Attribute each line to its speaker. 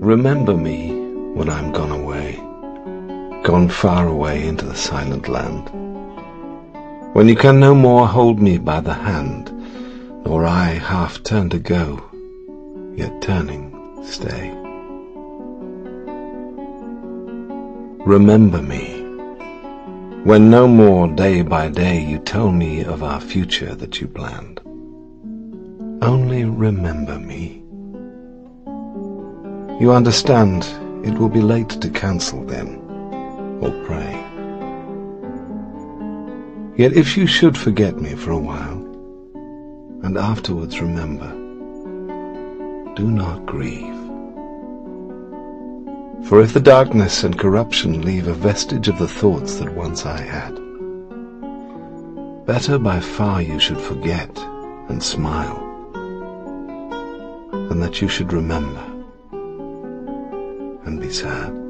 Speaker 1: Remember me when I'm gone away, gone far away into the silent land, when you can no more hold me by the hand, nor I half turn to go, yet turning stay. Remember me, when no more day by day you tell me of our future that you planned. Only remember me. You understand, it will be late to cancel then, or pray. Yet if you should forget me for a while, and afterwards remember, do not grieve. For if the darkness and corruption leave a vestige of the thoughts that once I had, better by far you should forget and smile, than that you should remember and be sad.